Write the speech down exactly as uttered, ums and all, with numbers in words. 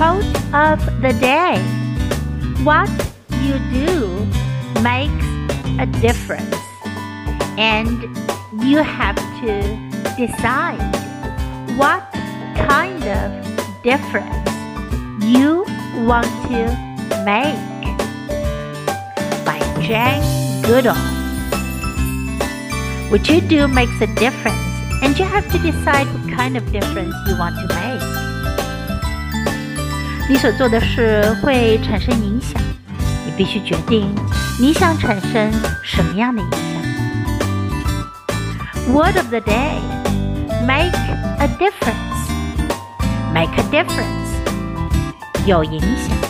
Quote of the day. What you do makes a difference, and you have to decide what kind of difference you want to make. By Jane Goodall. What you do makes a difference, and you have to decide what kind of difference you want to make. 你所做的事会产生影响，你必须决定你想产生什么样的影响。Word of the day. Make a difference. Make a difference. 有影响。